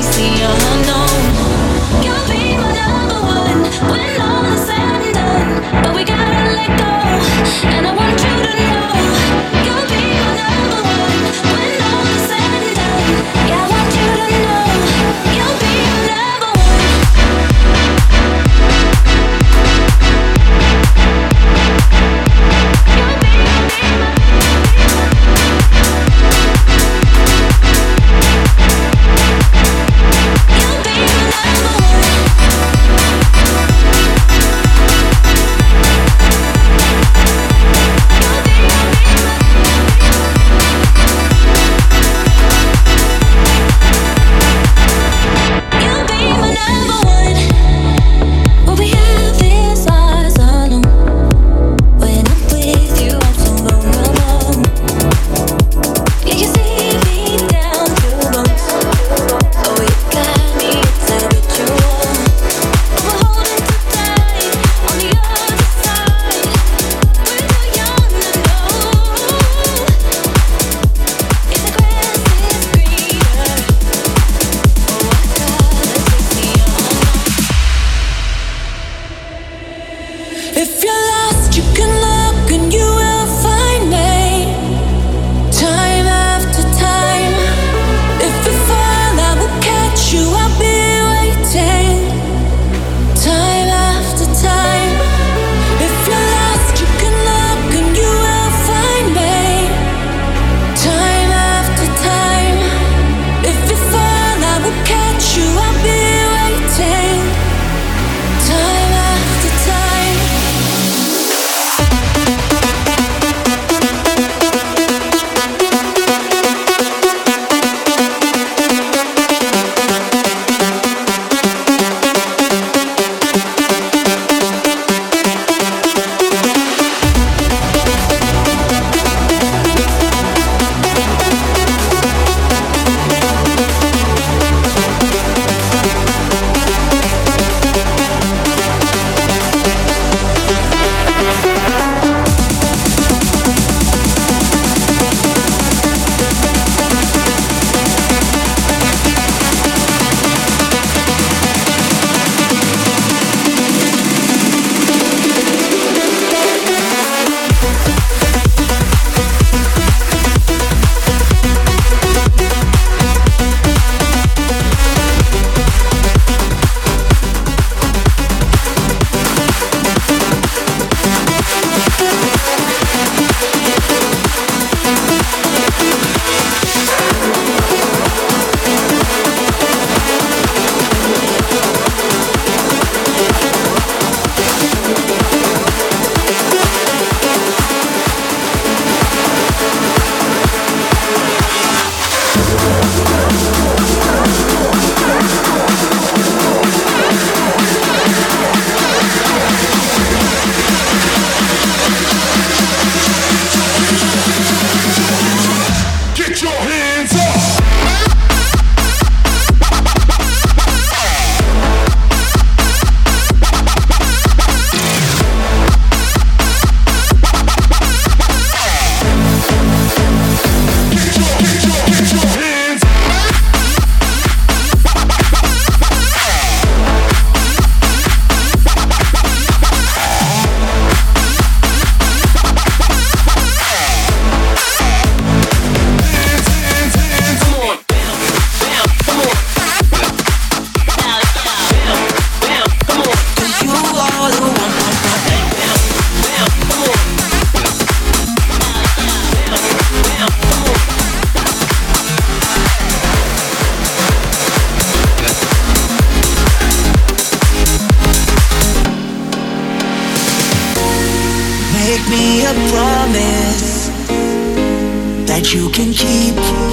that you can keep.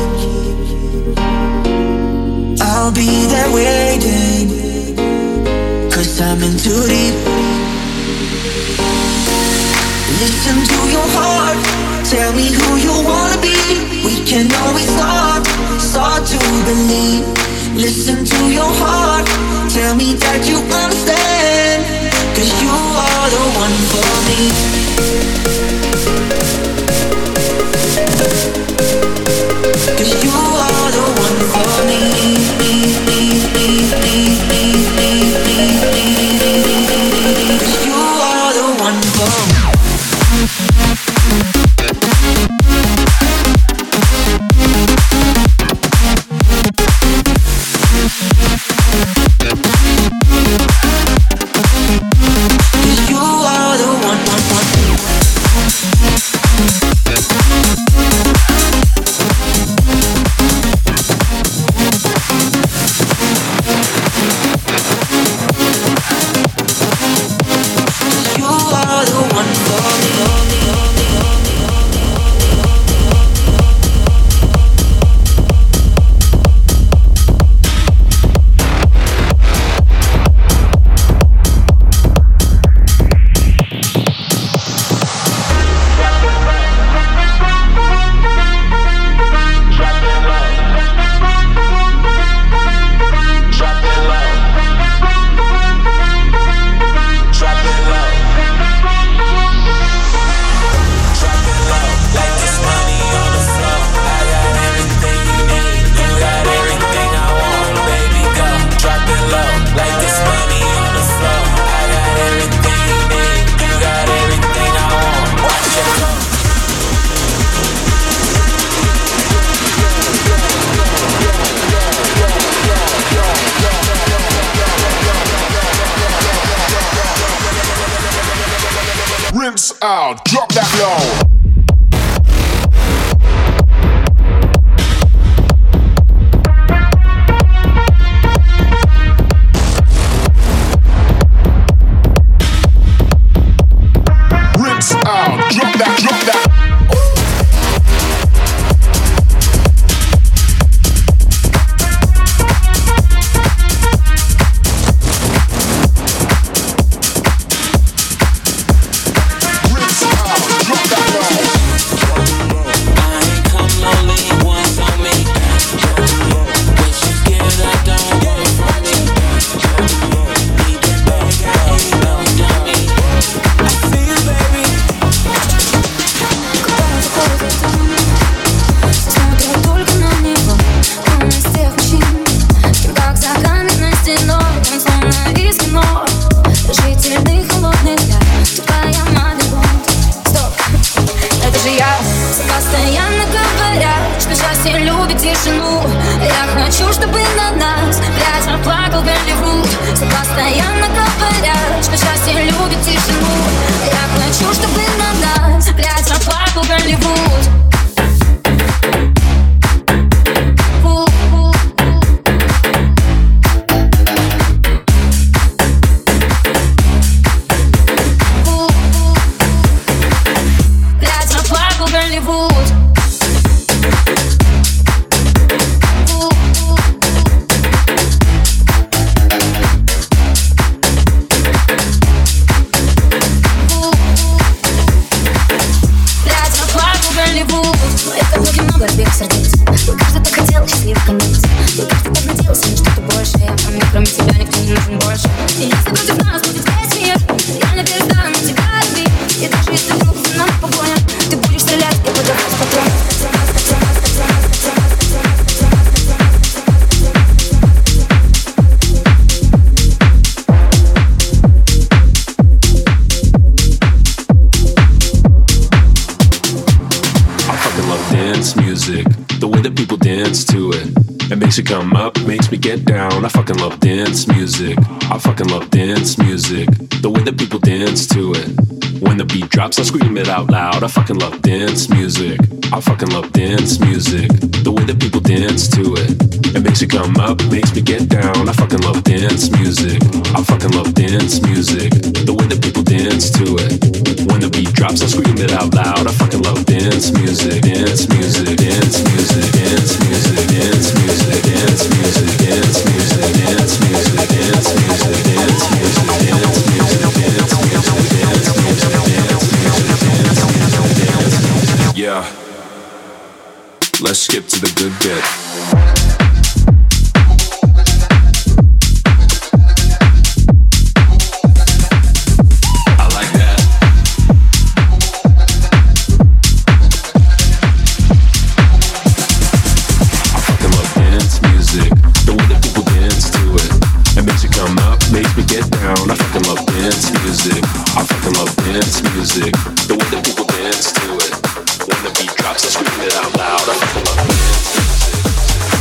I'll be there waiting, 'cause I'm in too deep. Listen to your heart, tell me who you wanna be. We can always start to believe. Listen to your heart, tell me that you understand, 'cause you are the one for me. 'Cause you are the one for me. out, drop that low. Out, drop that, drop that. Come up, makes me get down. I fucking love dance music. I fucking love dance music. The way that people dance to it. When the beat drops, I scream it out loud. I fucking love dance music. I fucking love dance music. The way that people dance to it. It makes you come up, makes me get down. I fucking love dance music. I fucking love dance music. The way that people dance to it. When the beat drops, I scream it out loud. I fucking love dance music. Dance music. Dance music. Dance music. Dance music. Dance music. Dance music. Dance music. Dance music. Dance music. Dance music. Dance music. Dance music. Yeah. Let's skip to the good bit. The way that people dance to it. When the beat drops, I scream it out loud. I fucking love dance music.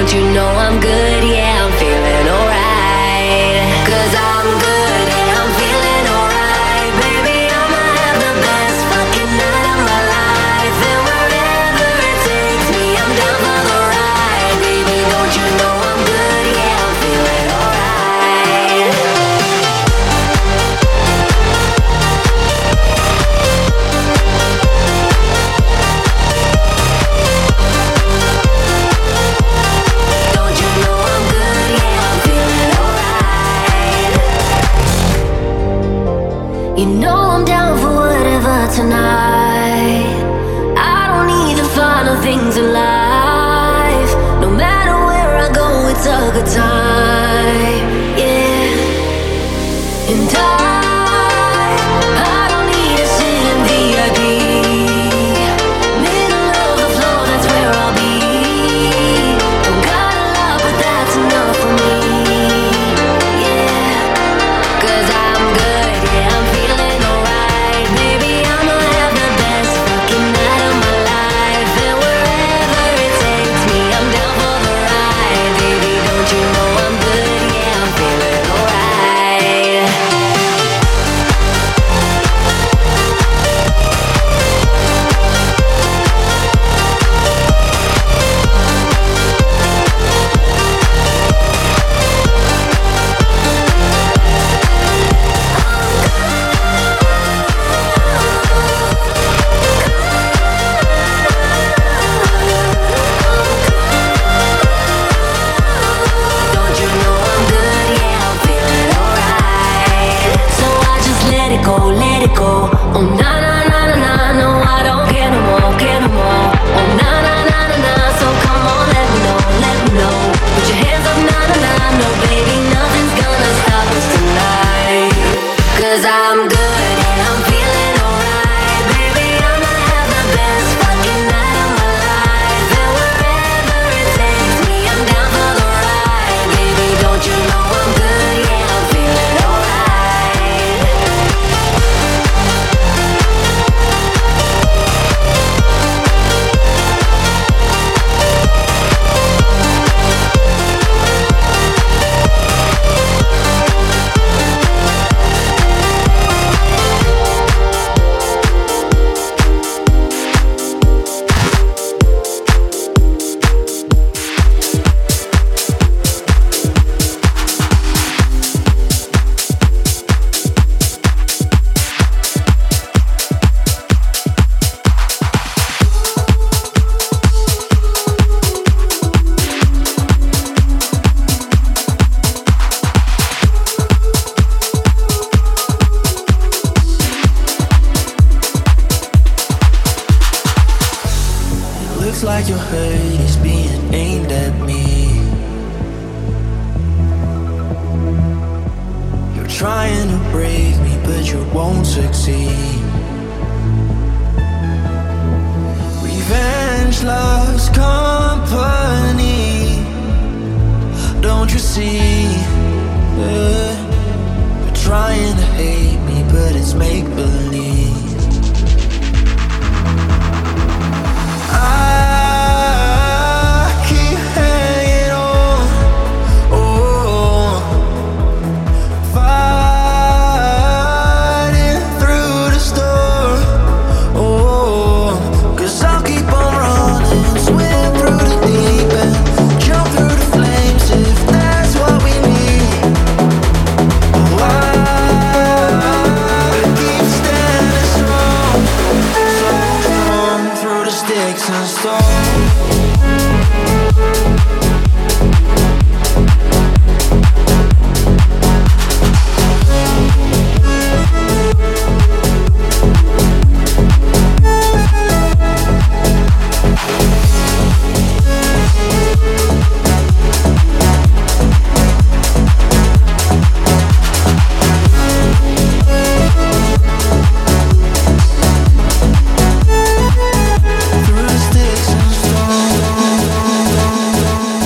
don't you know I'm good? Yeah, I'm feeling alright. 'Cause I'm good, yeah, I'm feeling alright. Baby, I'ma have the best fucking night of my life. And wherever it takes me, I'm down for the ride. Baby, don't you know I'm good? Yeah, I'm feeling alright. Don't you know I'm good? Yeah, I'm feeling alright. You know I'm down for whatever tonight. I don't need the final things in life. No matter where I go, it's a good time. Yeah. And I don't need to sit in VIP. Middle of the floor, that's where I'll be. Don't got a lot, but that's enough for me. Yeah. 'Cause I'm good, yeah, I'm feeling alright. Baby, I'ma have the best fucking night of my life. And wherever it takes me, I'm down for the ride. Baby, don't you know I'm good? Yeah, I'm feeling alright. Don't you know I'm good? Yeah, I'm feeling alright. So I just let it go, let it go. Oh na na na na na, no I don't care no more, care no more. Oh na na na na na, so come on, let me know, let me know. Put your hands up, na na na, no baby, nothing's gonna stop us tonight. 'Cause I'm good and I'm feeling alright. Baby, I'ma have the best fucking night of my life. And wherever it takes me, I'm down for the ride. Baby, don't you know I'm good? Yeah, I'm feeling alright. Looks like your hate is being aimed at me. You're trying to break me, but you won't succeed. Revenge loves company. Don't you see? You're trying to hate me, but it's make believe. I keep hanging on, oh, fighting through the storm, oh, 'cause I'll keep on running, swim through the deep end, jump through the flames if that's what we need. Oh, I keep standing strong, so strong through the sticks and stones. Through the sticks and stones.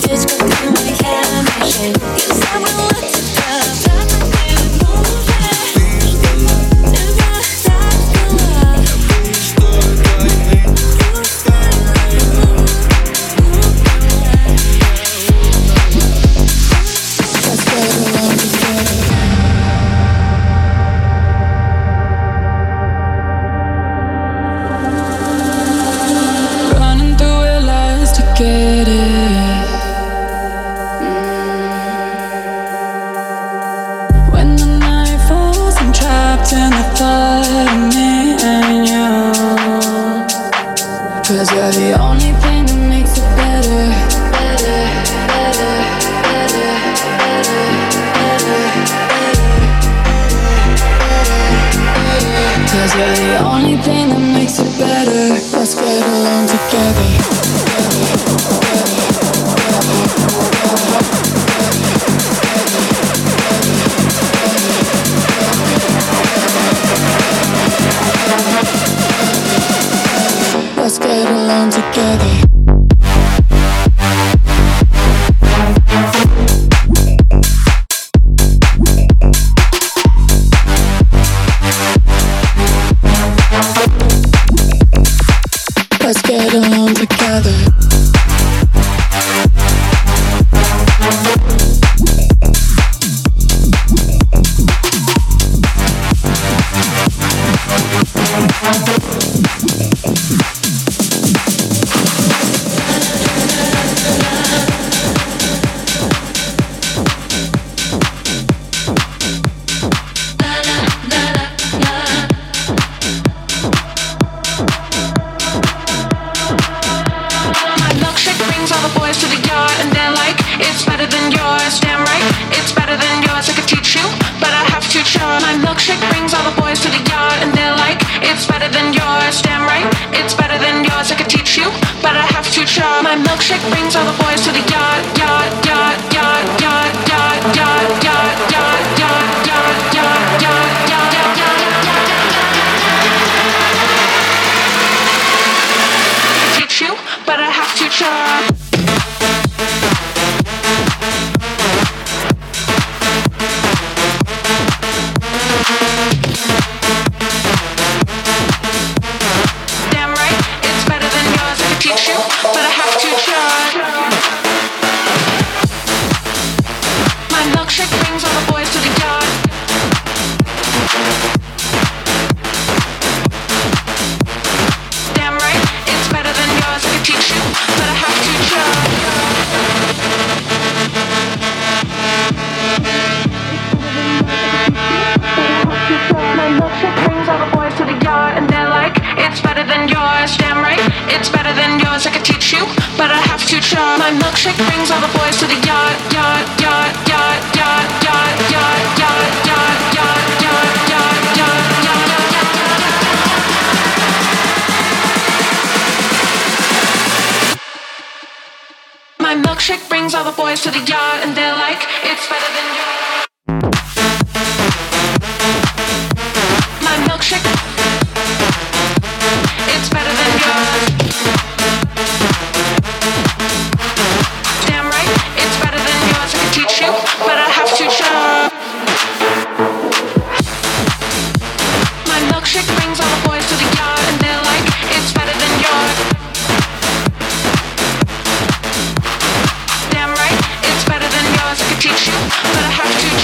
Teach you, but I have to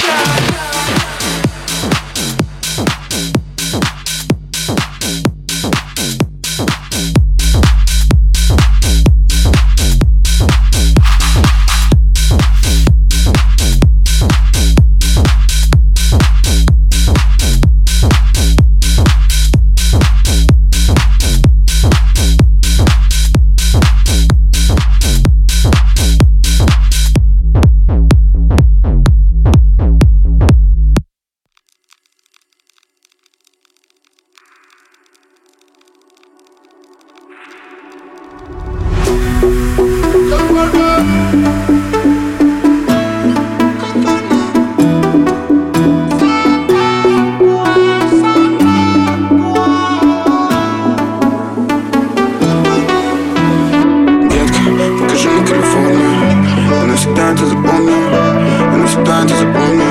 навсегда ты запомни, и навсегда ты запомни.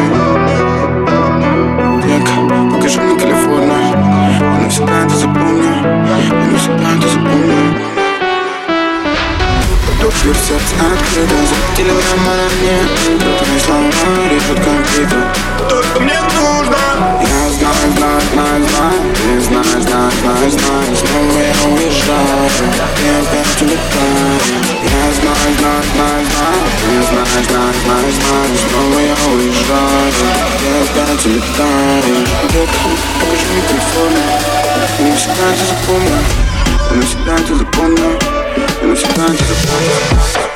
Века, покажи мне Калифорнию, и навсегда ты запомни, и навсегда ты запомни. Дверь в сердце открыта, запретили нам на мне. Твои слова режут как битва. Только мне нужно. Я знаю, знаю, знаю, знаю. Ты знаешь, знаешь, знаешь, знаешь. Снова я уезжаю, и опять улетаю. Я знаю, знаю, знаю, знаю. Ты знаешь, знаешь, знаешь, знаешь. Снова я уезжаю, и опять улетаю. Покажи мне Калифорнию, и навсегда ты запомни, и навсегда ты запомни. И навсегда ты запомни.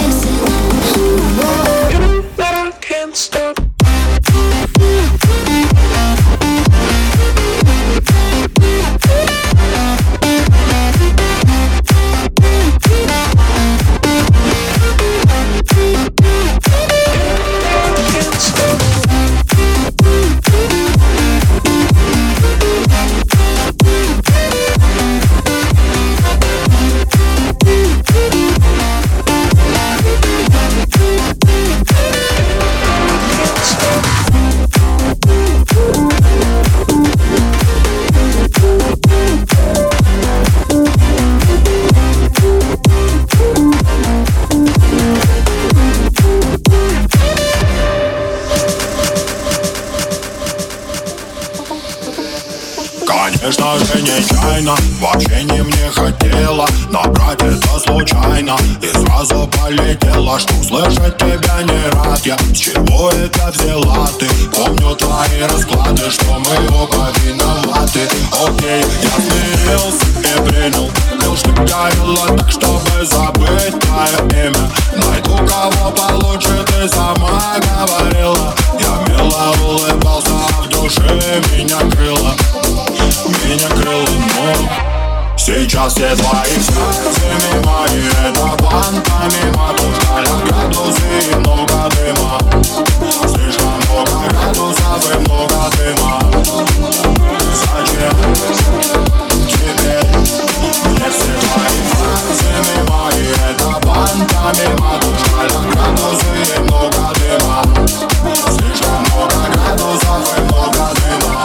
Stop. нечаянно, вообще не мне хотела набрать это случайно и сразу полетела, что услышать тебя не рад я. С чего это взяла ты? Помню твои расклады, что мы оба виноваты. Окей, я смирился и принял, что говорила так, чтобы забыть твое имя. Найду кого получше, ты сама говорила. Я мило улыбался, а в душе меня крыло, но сейчас все твои слезы мимо, и это план помимо. Тушкаля градусы и много дыма, слишком много градусов и много дыма. Зачем теперь мне все твои слезы мимо, и это план помимо. Тушкаля градусы и много дыма, слишком много градусов и много дыма.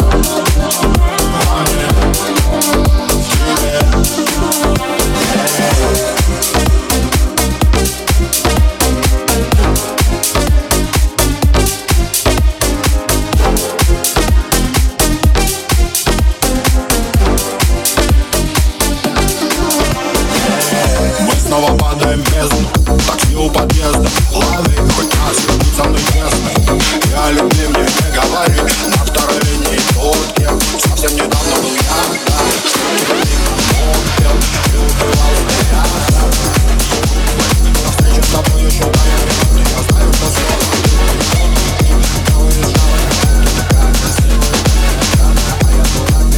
Снова падаем в бездну, такси у подъезда. Лови, хоть раз, будь со мной честной. Я люблю, мне не говори. На второй линии тот кем совсем недавно был я, да. Что тебя мимо пел и убивал взгляд. На встрече с тобой еще моя минута. Я знаю, что снова я уезжала, ты такая красивая, а я дурак.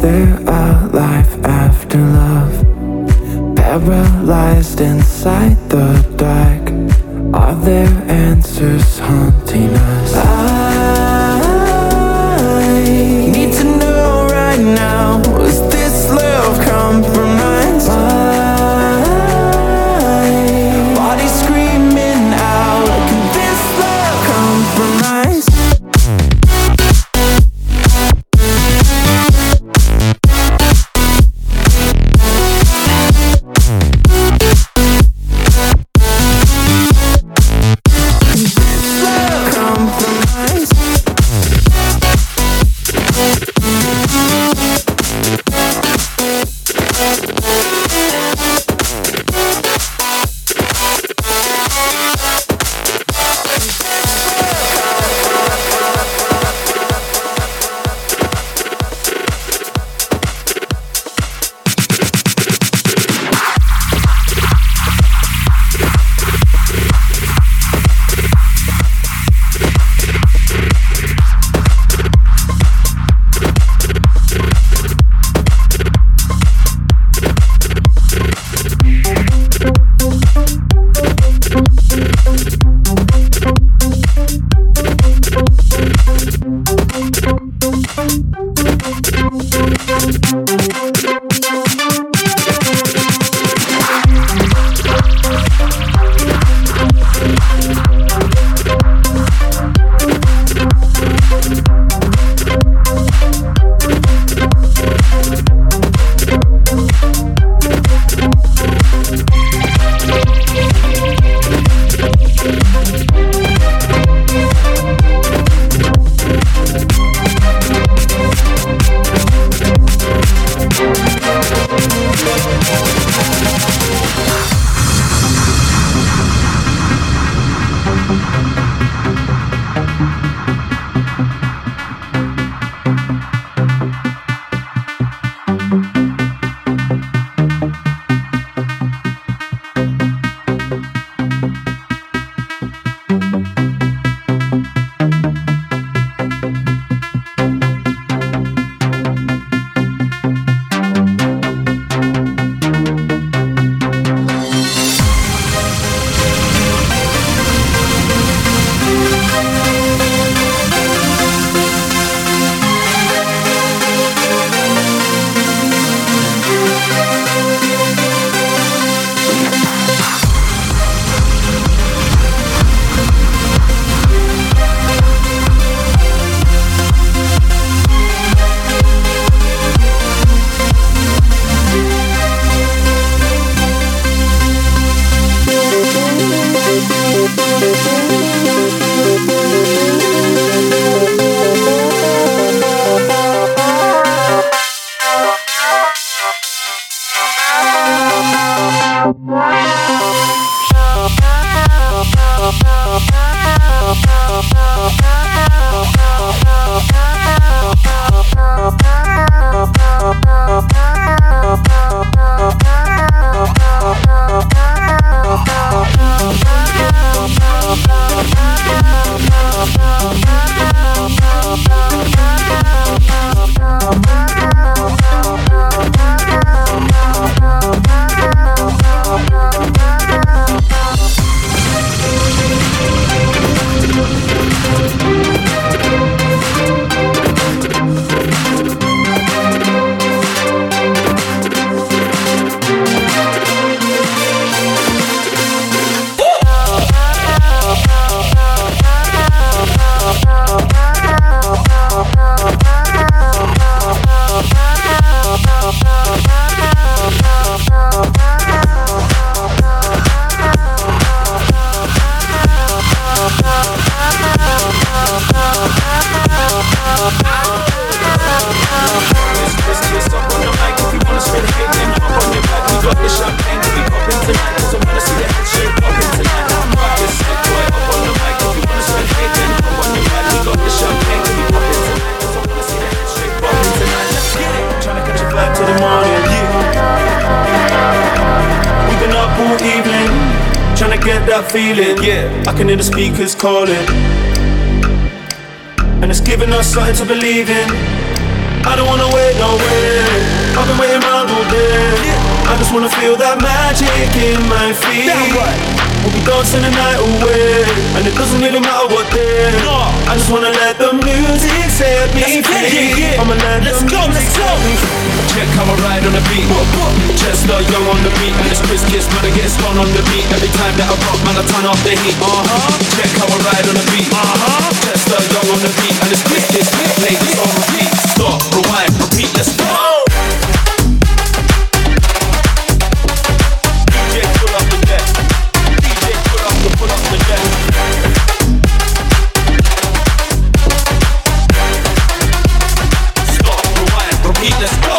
there a life after love? Paralyzed inside the dark, are there answers haunting us? I need to know right now, was this love compromised? My body's screaming out, can this love compromise? That feeling, yeah, I can hear the speakers calling, and it's giving us something to believe in. I don't wanna wait, no way. there. I just wanna feel that magic in my feet. We'll be dancing the night away, and it doesn't really matter what day. I just wanna let the music set me free. I'ma let the music set me free. Check how I ride on the beat. Chester Young on the beat, and it's Chris Kiss, man, I get spun on the beat. Every time that I rock, man, I turn off the heat. Check how I ride on the beat. Chester Young on the beat, and it's Chris Kiss, play this on repeat. Stop, rewind, repeat, let's go. DJ, pull up the deck. DJ, pull up the deck. Stop, rewind, repeat, let's go.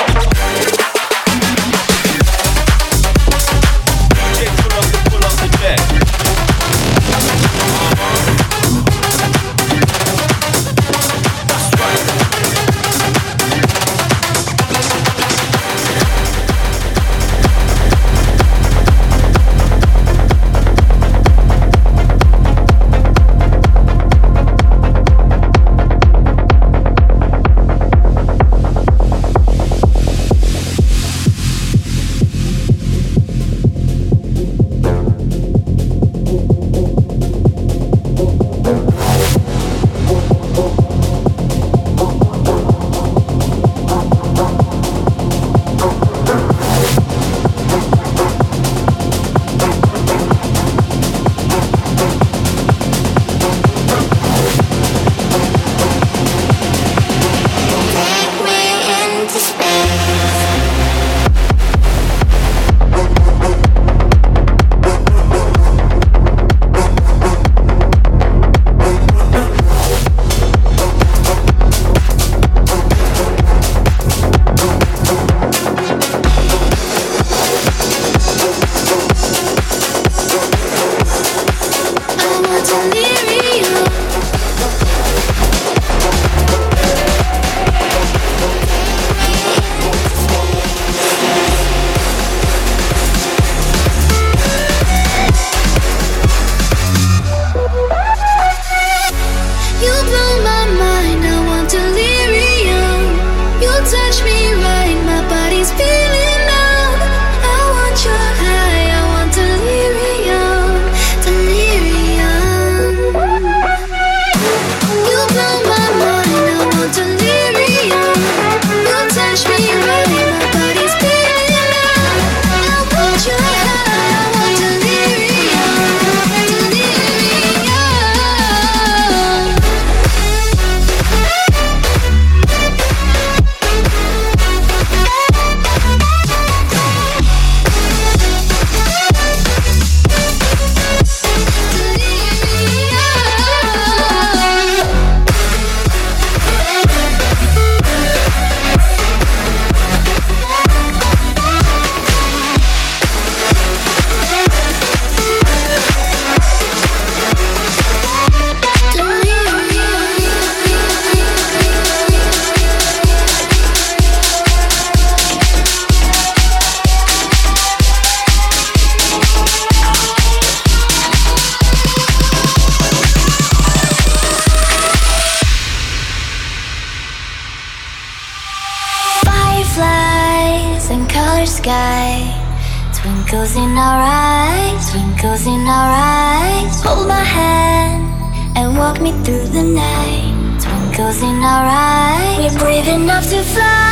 Sky, twinkles in our eyes, twinkles in our eyes. Hold my hand and walk me through the night. Twinkles in our eyes, we're brave enough to fly.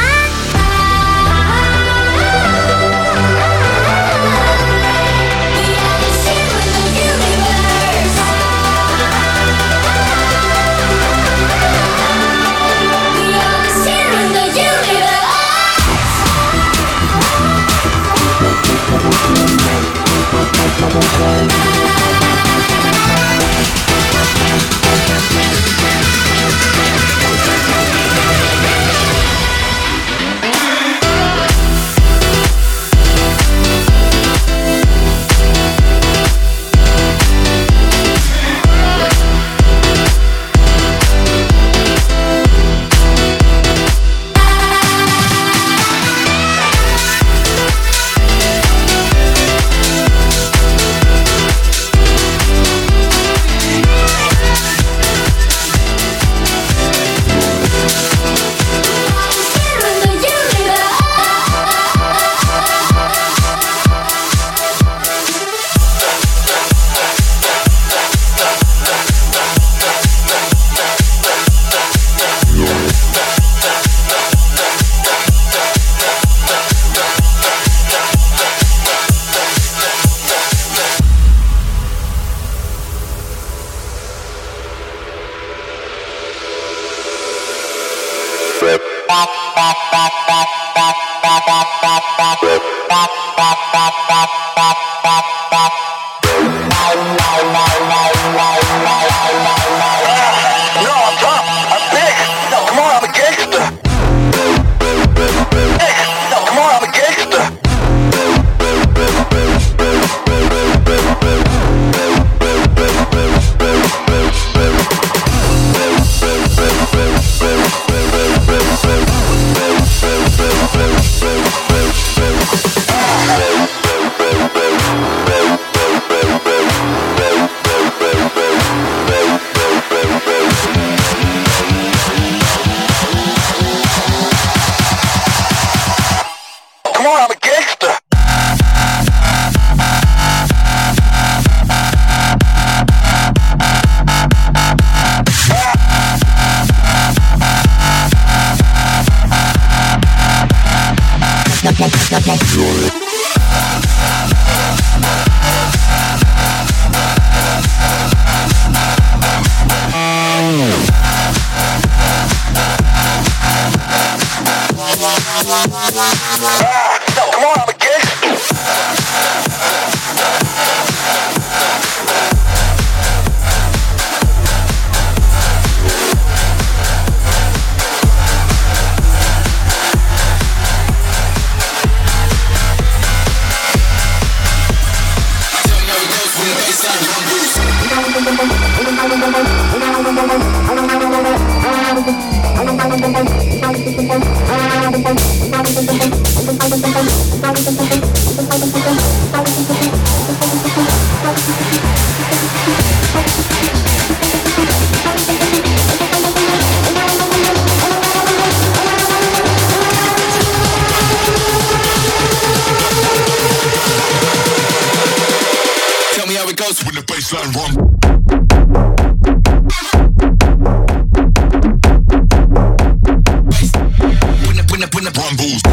When the bassline run. When the run boost.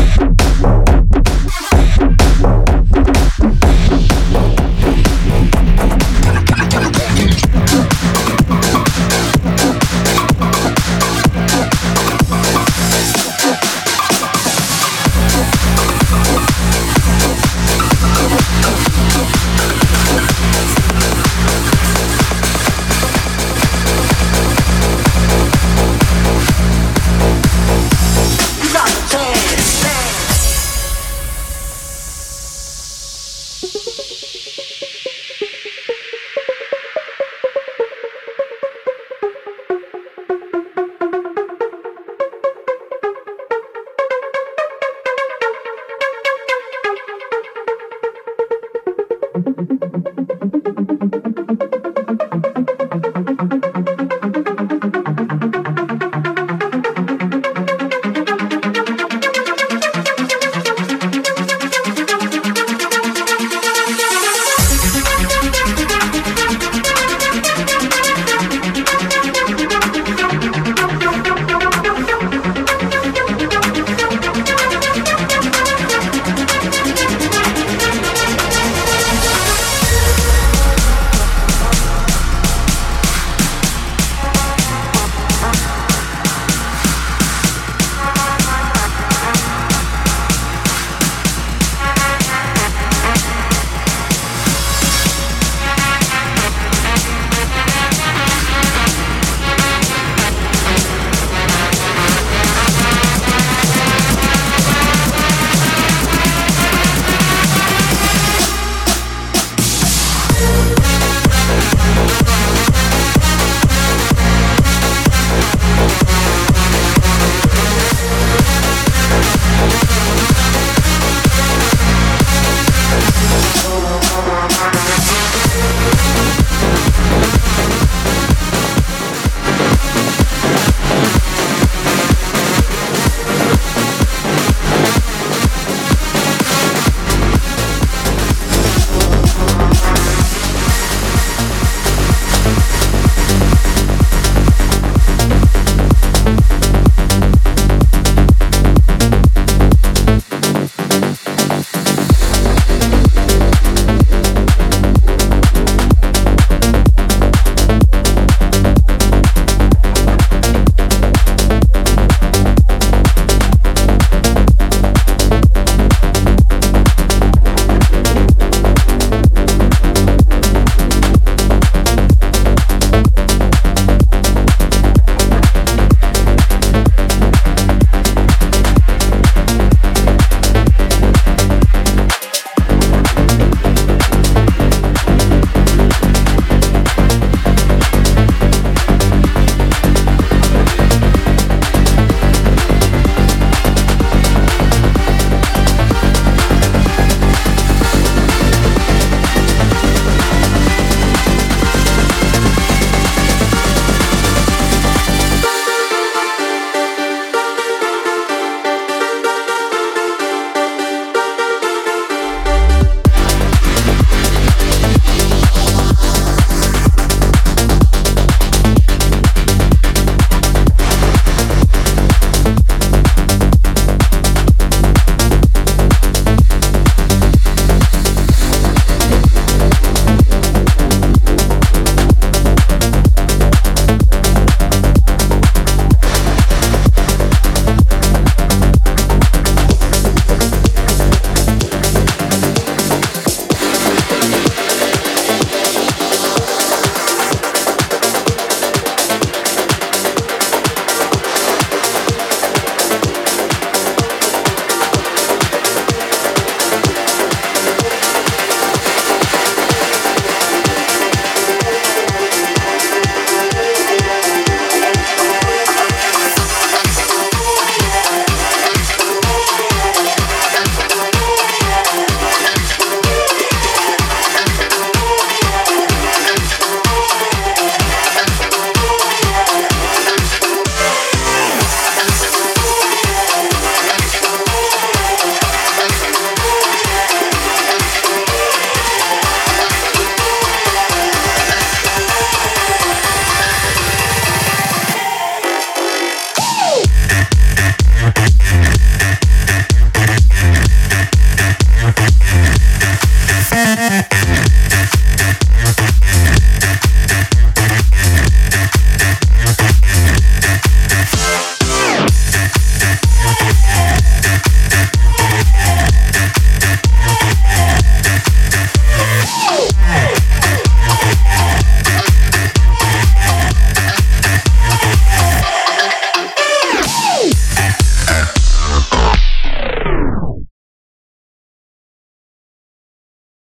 Thank you.